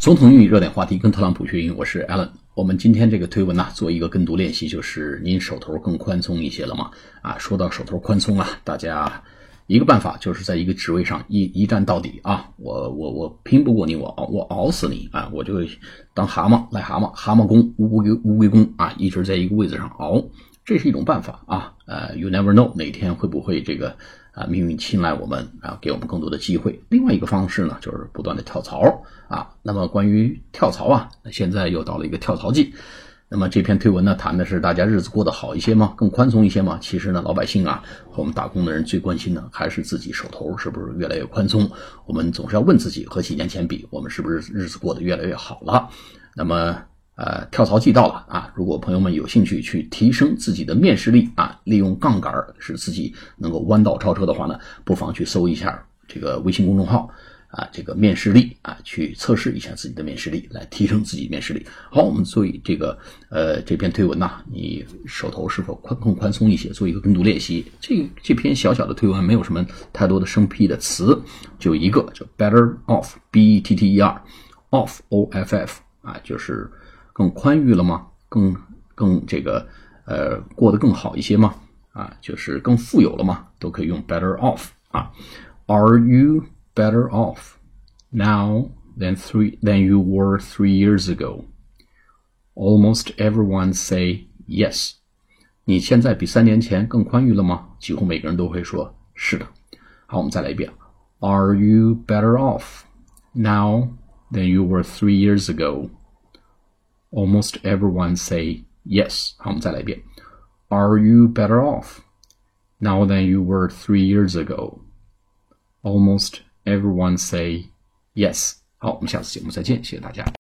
总统英语热点话题，跟特朗普学英语，我是 Alan。我们今天这个推文呢，做一个跟读练习，就是您手头更宽松一些了吗？说到手头宽松啊，大家一个办法就是在一个职位上一战到底啊！我拼不过你，我熬死你啊！我就当蛤蟆癞蛤蟆，蛤蟆功乌龟功啊，一直在一个位子上熬，这是一种办法啊。You never know 哪天会不会这个命运青睐我们啊，给我们更多的机会。另外一个方式呢，就是不断的跳槽啊。那么关于跳槽啊，现在又到了一个跳槽季。那么这篇推文呢，谈的是大家日子过得好一些吗？更宽松一些吗？其实呢，老百姓啊和我们打工的人最关心的还是自己手头是不是越来越宽松。我们总是要问自己，和几年前比，我们是不是日子过得越来越好了？那么跳槽季到了啊！如果朋友们有兴趣去提升自己的面试力啊，利用杠杆使自己能够弯道超车的话呢，不妨去搜一下这个微信公众号这个面试力去测试一下自己的面试力，来提升自己面试力。好，我们做这个这篇推文你手头是否更宽松一些，做一个跟读练习。这篇小小的推文没有什么太多的生僻的词，就一个叫 better off better off off 就是更宽裕了吗？更这个过得更好一些吗？就是更富有了吗？都可以用 better off Are you better off now than you were 3 years ago? Almost everyone say yes. 你现在比3年前更宽裕了吗？几乎每个人都会说是的。好，我们再来一遍。Are you better off now than you were 3 years ago?Almost everyone say yes. 好，我们再来一遍。Are you better off now than you were 3 years ago? Almost everyone say yes. 好，我们下次节目再见，谢谢大家。